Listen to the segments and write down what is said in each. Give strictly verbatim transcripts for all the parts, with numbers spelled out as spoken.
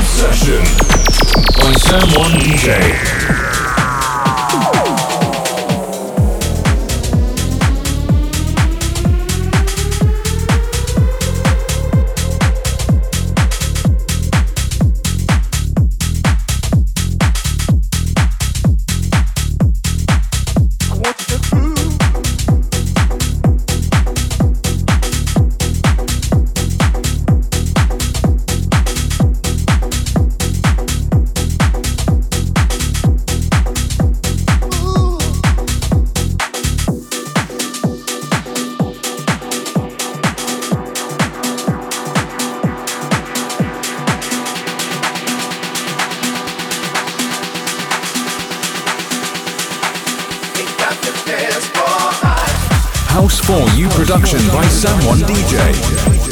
Session by Sam One D J. House for You production by Sam One D J.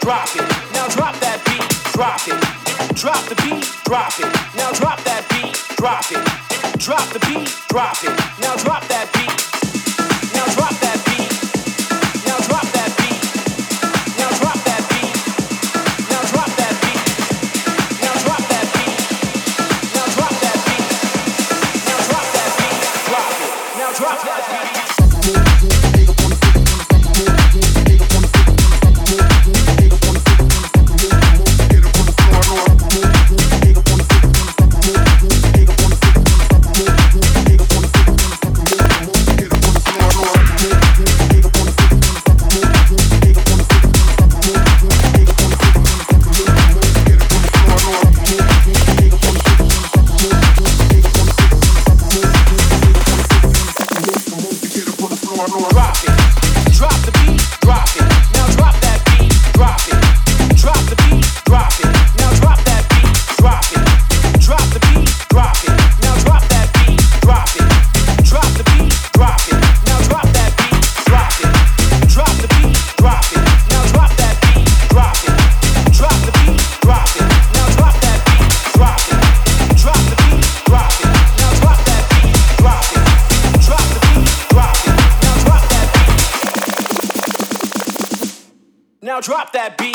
drop it. Now drop that beat, drop it. Drop the beat, drop it. Now drop that beat, drop it. Drop the beat, drop it. Now drop that beat. Now drop that beat. Now drop that beat. Now drop that beat. Now drop that beat. Now drop that beat. Now drop that beat. Now drop that beat. Drop it. Now drop that beat. Now drop that beat.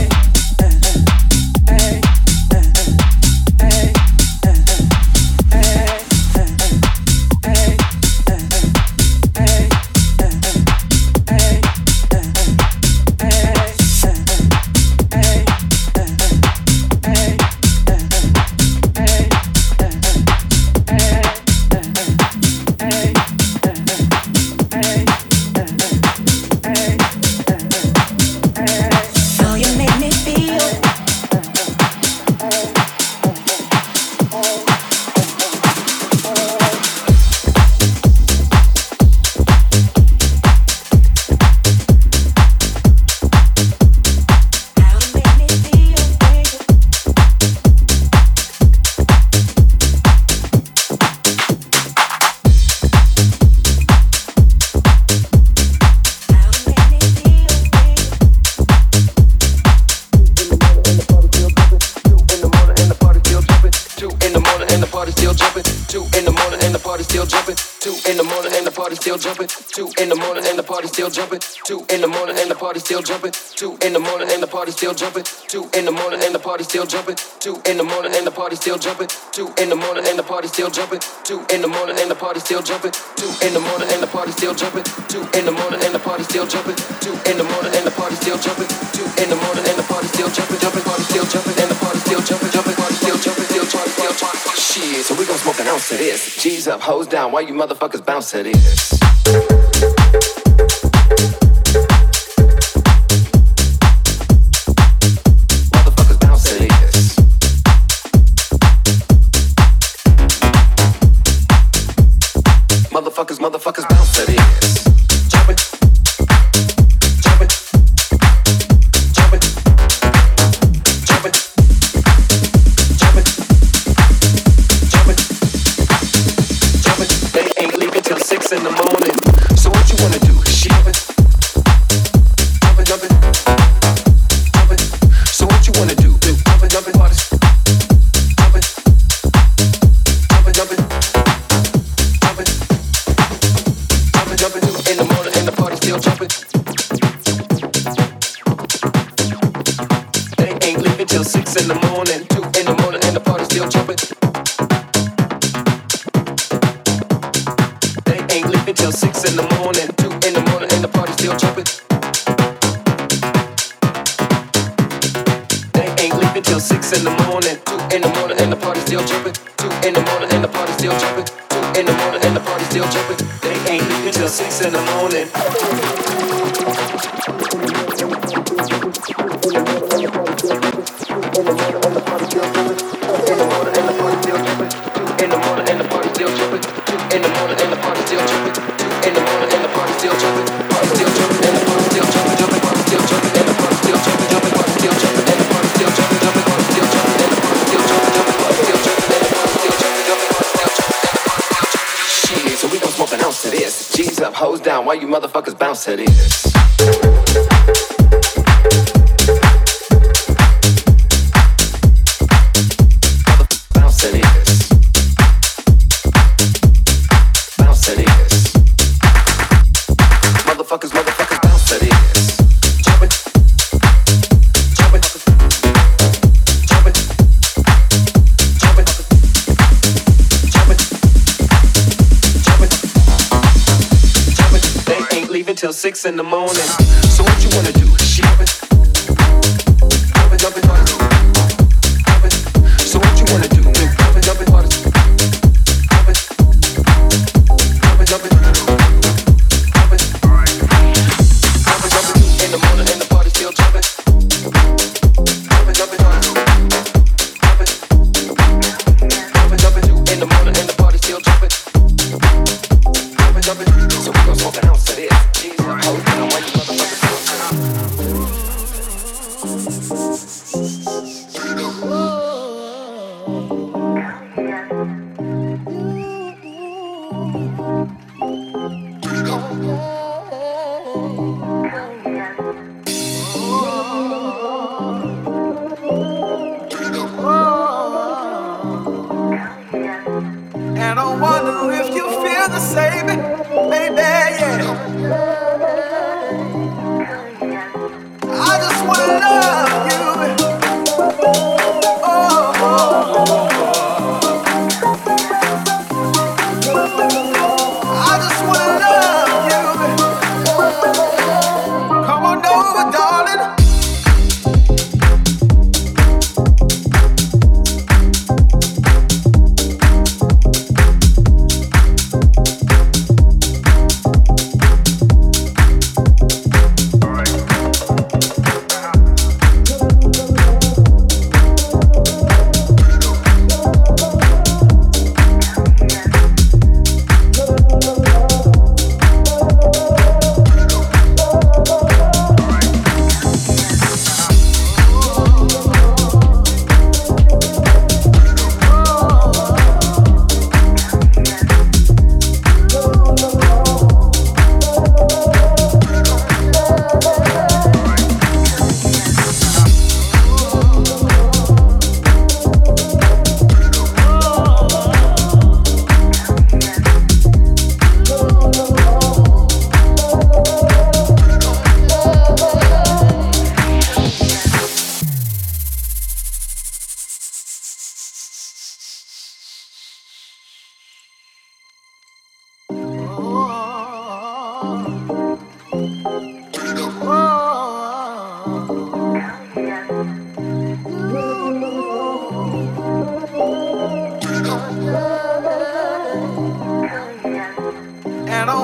Hey still jumping. Two in the morning and the party still jumping. Two in the morning and the party still jumping. Two in the morning and the party still jumping. Two in the morning and the party still jumping. Two in the morning and the party still jumping. Two in the morning and the party still jumping. Two in the morning and the party still jumping. Two in the morning and the party still jumping. Two in the morning and the party still jumping. Two in the morning and the party still jumping. Two in the morning and the party still jumping. Two in the morning and the party still jumping. Two in the morning and the party still jumping. Jumping, party still jumping, and the party still jumping. Jumping, party still jumping. Still party still jumping. Shit, so we gon' smoke an ounce of this. G's up, hoes down. Why you motherfuckers bounce to this? Motherfuckers, motherfuckers bounce to this. Jumpin', jumpin', jumpin', jumpin', jumpin', jumpin', jumpin'. They ain't leaving till six in the morning. So what you wanna do? Jumpin', jumpin', jumpin', jumpin'. So what you wanna do? Jumpin', jumpin', parties. Jumpin', jumpin', jumpin'. Jumping in the morning and the party still jumping. They ain't leaving till six in the morning. Two in the morning and the party still jumping. They ain't leaving till six in the morning. Two in the morning and the party still jumping. They ain't leaving till six in the morning. Two in the morning and the party still jumping. Two in the morning and the party still jumping. Two in the morning and the party still jumping. They ain't leaving till six in the morning. In the morning and the party still jumping. In the morning and the party still jumping. In the morning and the party still jumping. In the morning and the party still jumping. In the morning and the party still jumping. Party still jumping and the party still jumping. Jumping, party still jumping and the party still jumping. Jumping, party still jumping and the party still jumping. Jumping, party still jumping and the party still jumping. Jumping, party still jumping and the party still jumping. Jumping, party still jumping and the party still jumping. Shit, so we gon' smoke an ounce to this. G's up, hoes down. Why you motherfuckers bounce to this? Motherfuckers, motherfuckers bounce to this. Jumpin', jumpin', jumpin', jumpin', jumpin', jumpin', jumpin'. They ain't leaving till six in the morning. So what you wanna do? Jumpin', jumpin', jumpin', jumpin'. So what you wanna do? Jumpin', jumpin', jumpin', jumpin', jumpin'. In the morning and the party still jumping. Jumping, jumping, jumping, jumping, jumping. In the morning and the party still jumping. Jumping, jumping. So we gon' smoke an ounce of this. Jesus, hold down, why you motherfuckers And I wonder if you feel the same, baby, yeah. I just wanna love you. Oh, oh, oh. I just wanna love you. Come on over, darling.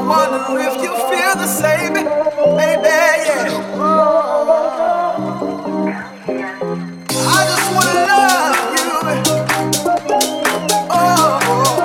wonder if you feel the same, baby, yeah. I just wanna love you. Oh,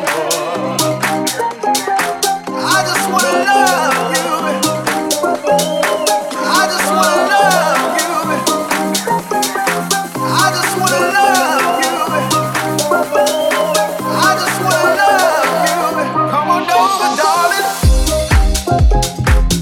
I just wanna love you. I just wanna love you. I just wanna love you. I just wanna love you. Come on over, darling.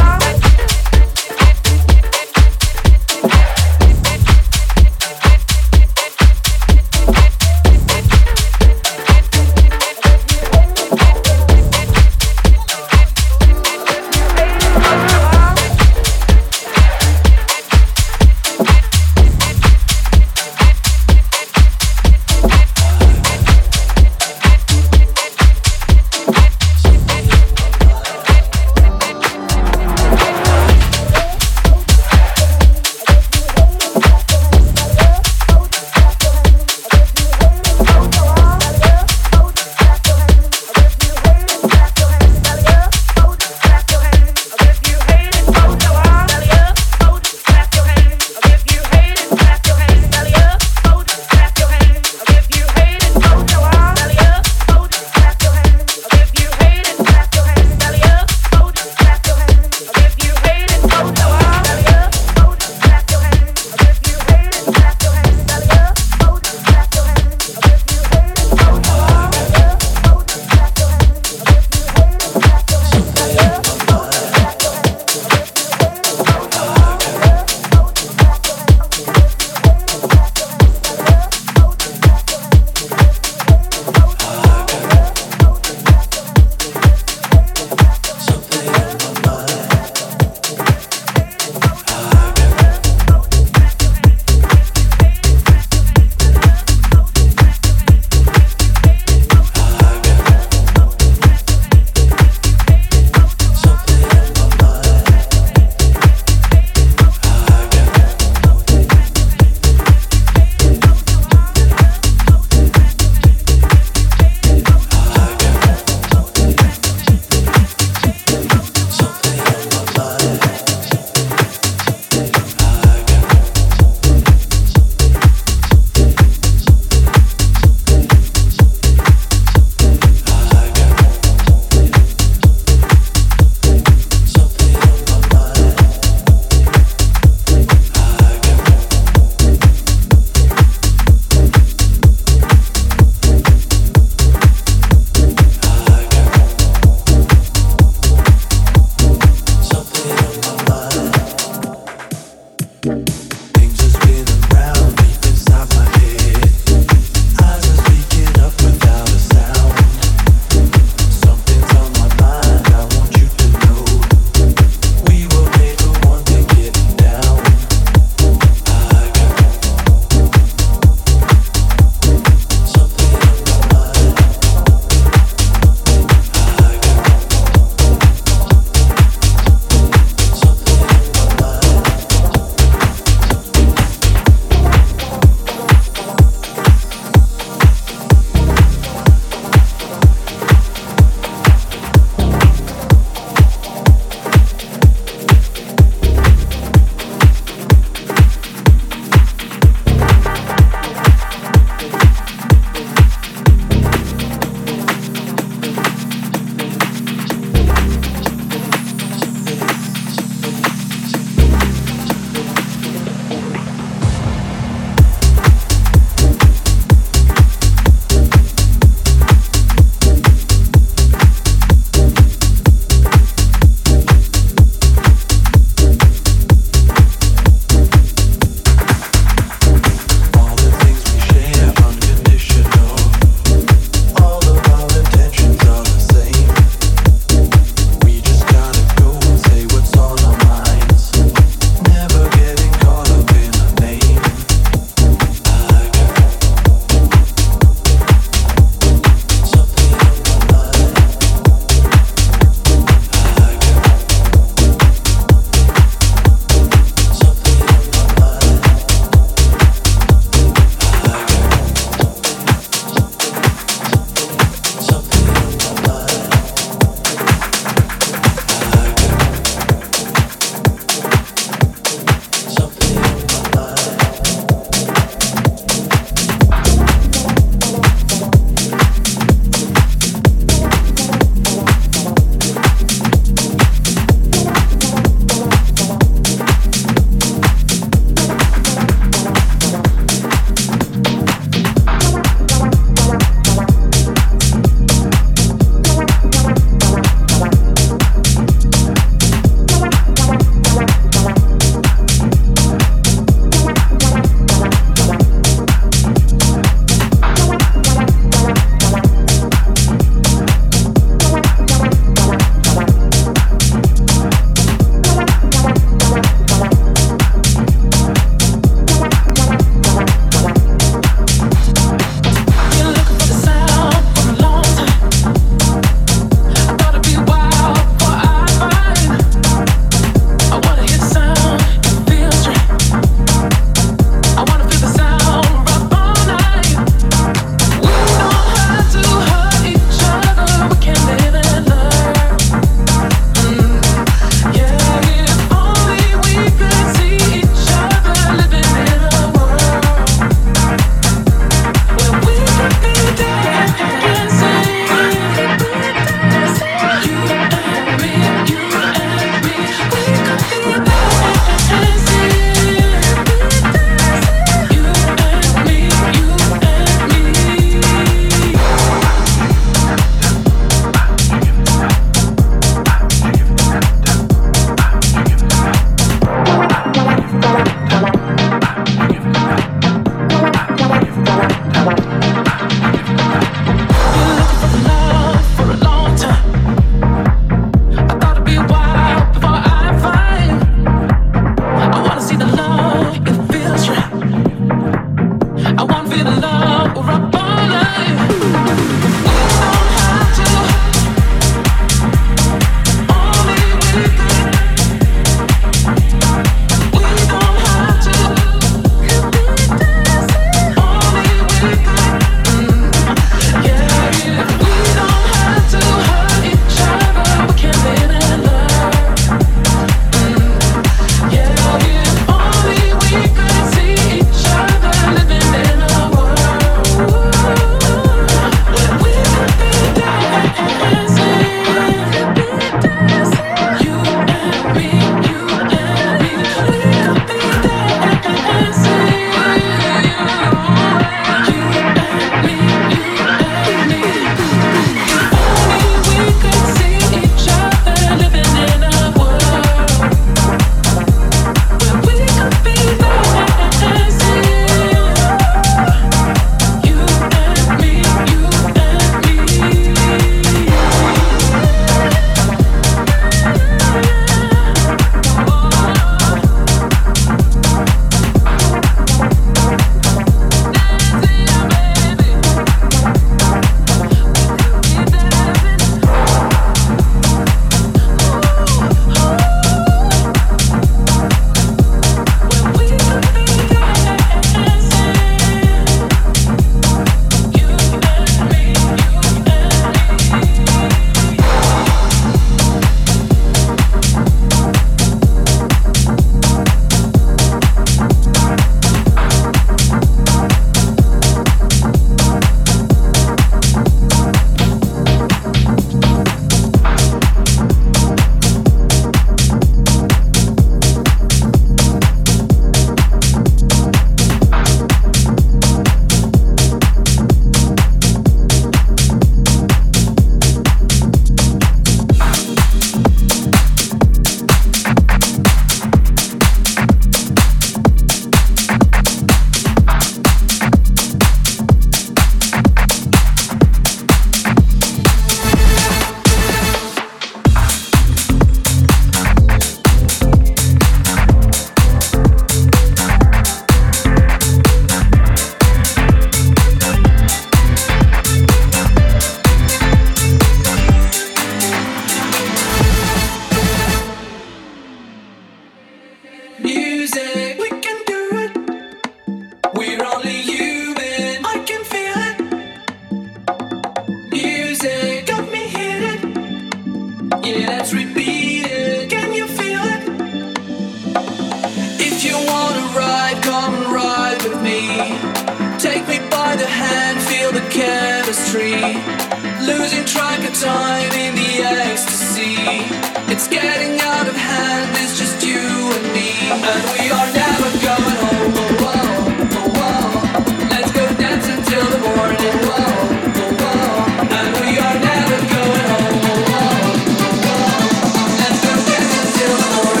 chemistry, losing track of time in the ecstasy. It's getting out of hand, it's just you and me, and we are never going home. Oh, oh, oh, oh. Let's go dance until the morning. Oh, oh, oh. And we are never going home. Oh, oh, oh. Let's go dance until the morning.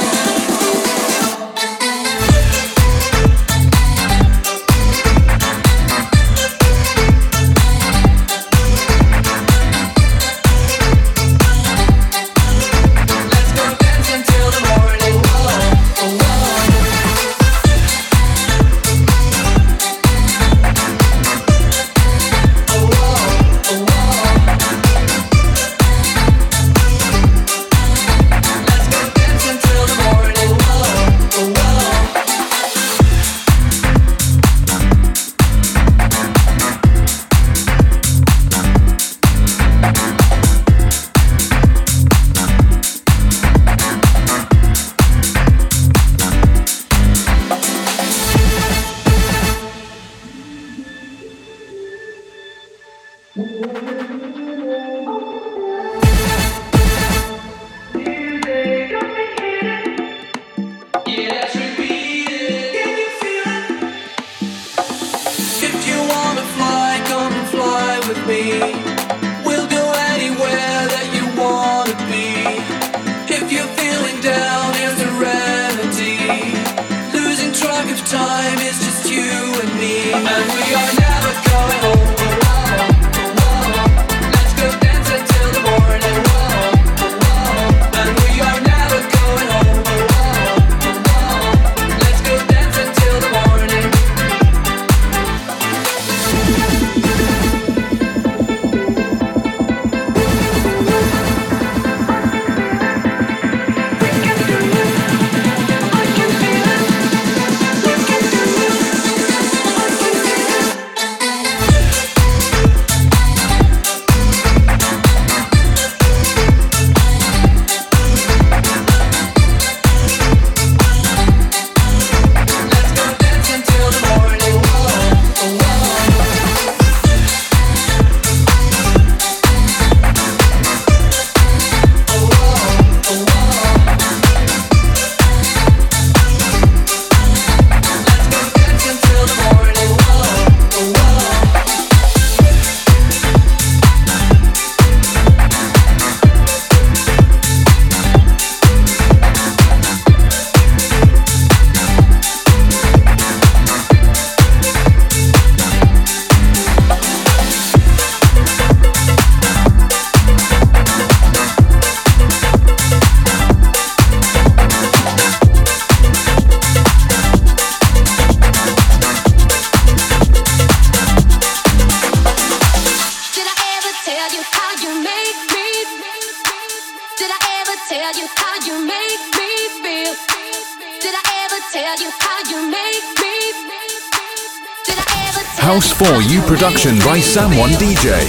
House for You production by Someone D J.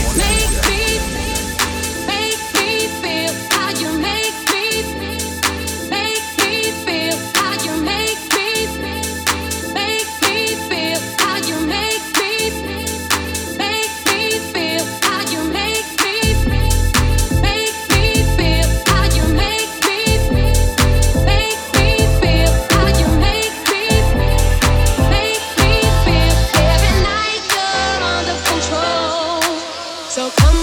So come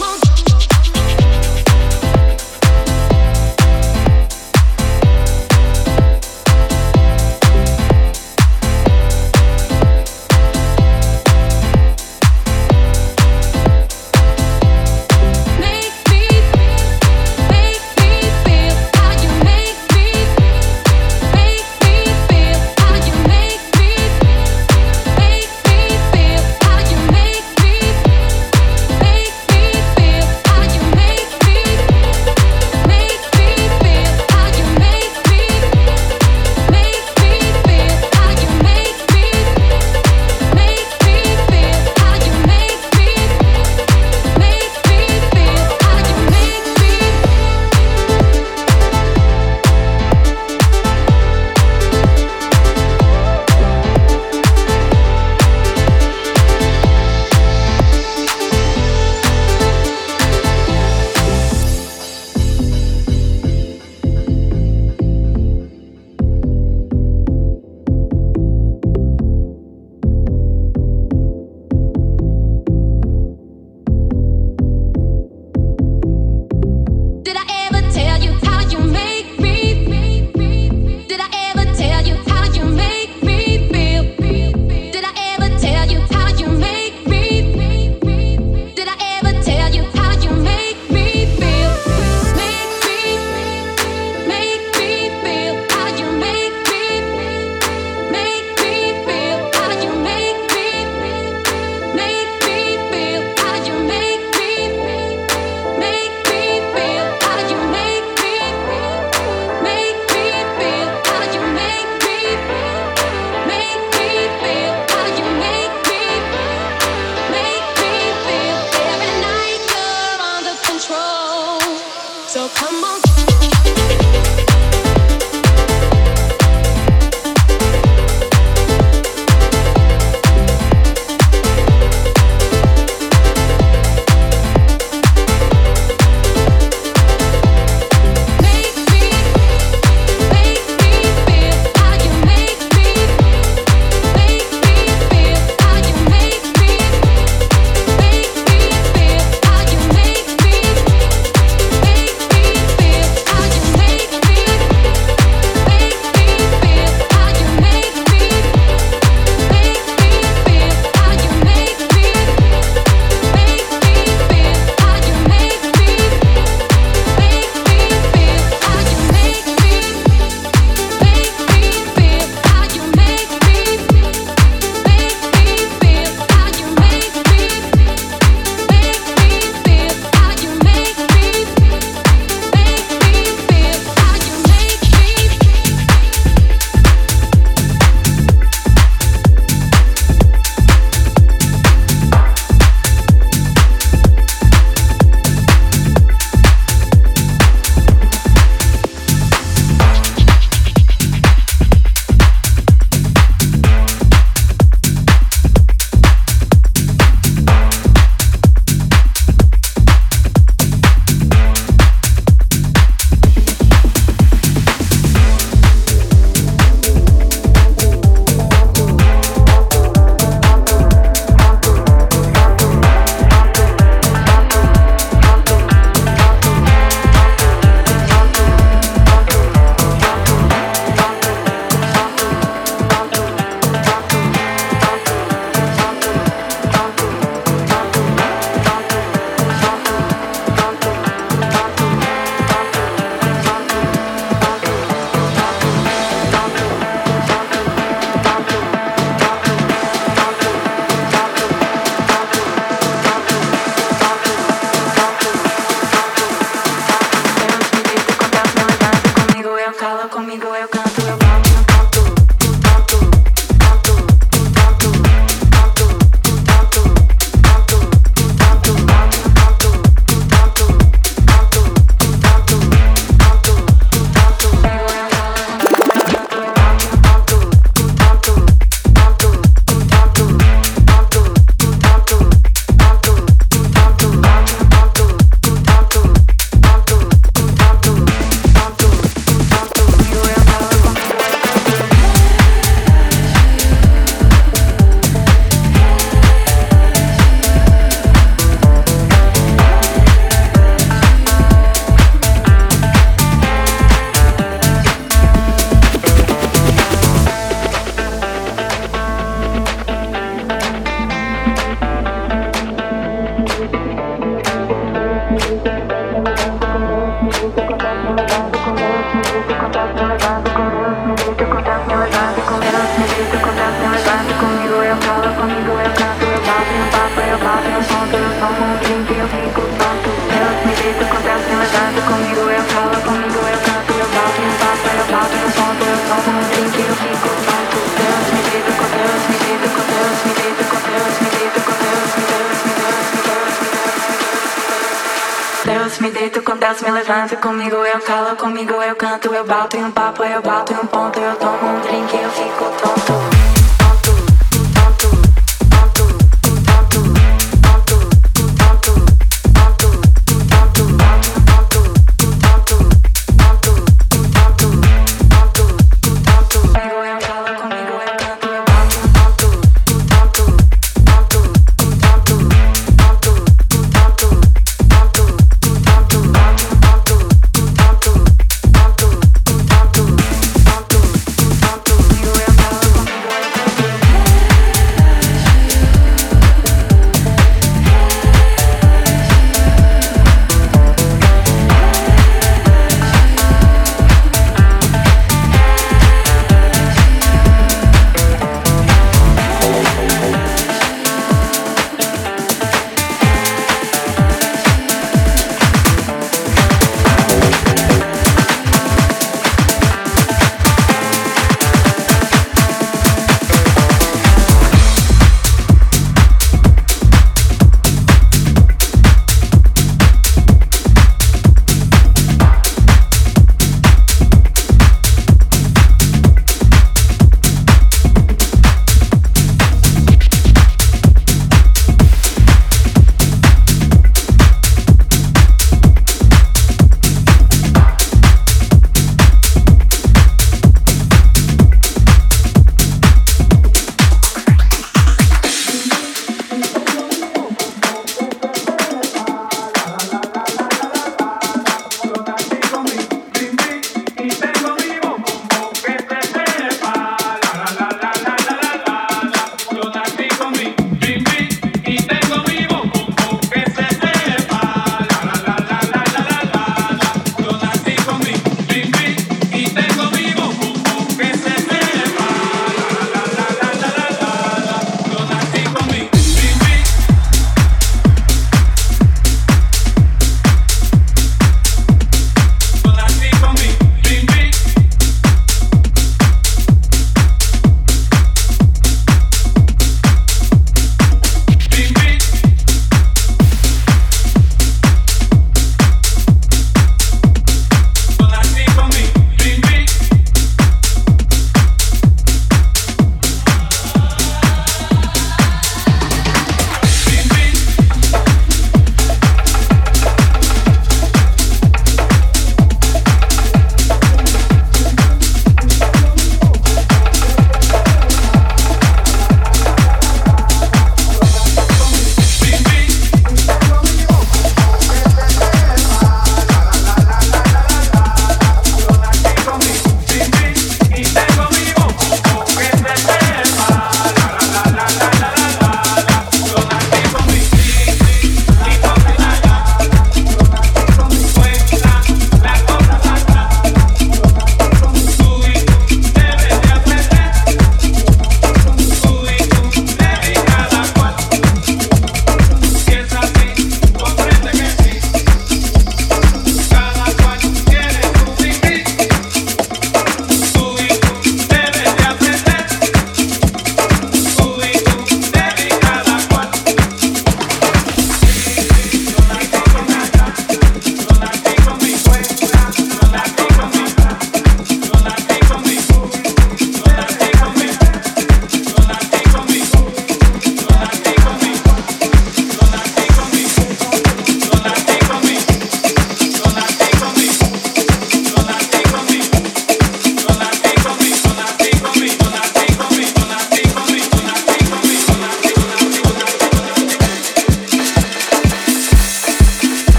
Me deito com Deus, me levanto comigo, eu calo comigo, eu canto, eu bato em um papo, eu bato em um ponto, eu tomo um drink, eu fico tonto.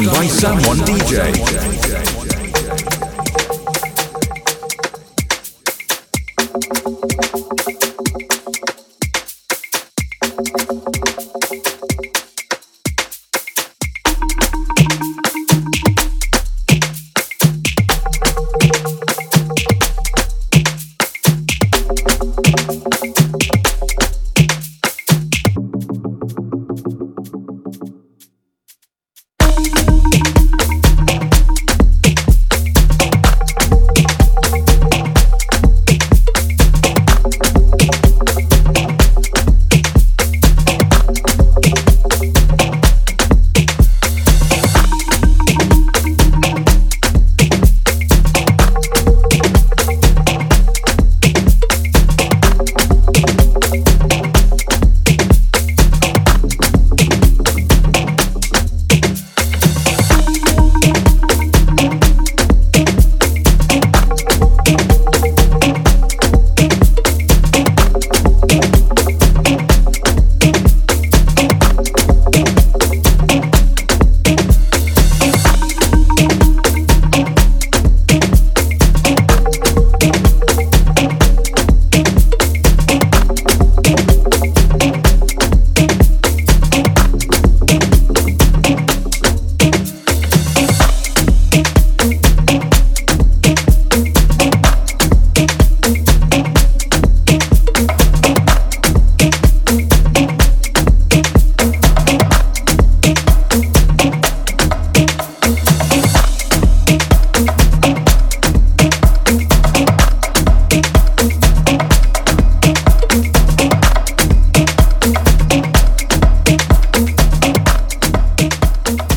by Someone D J.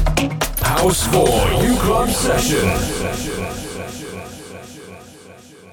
House four U Club Session.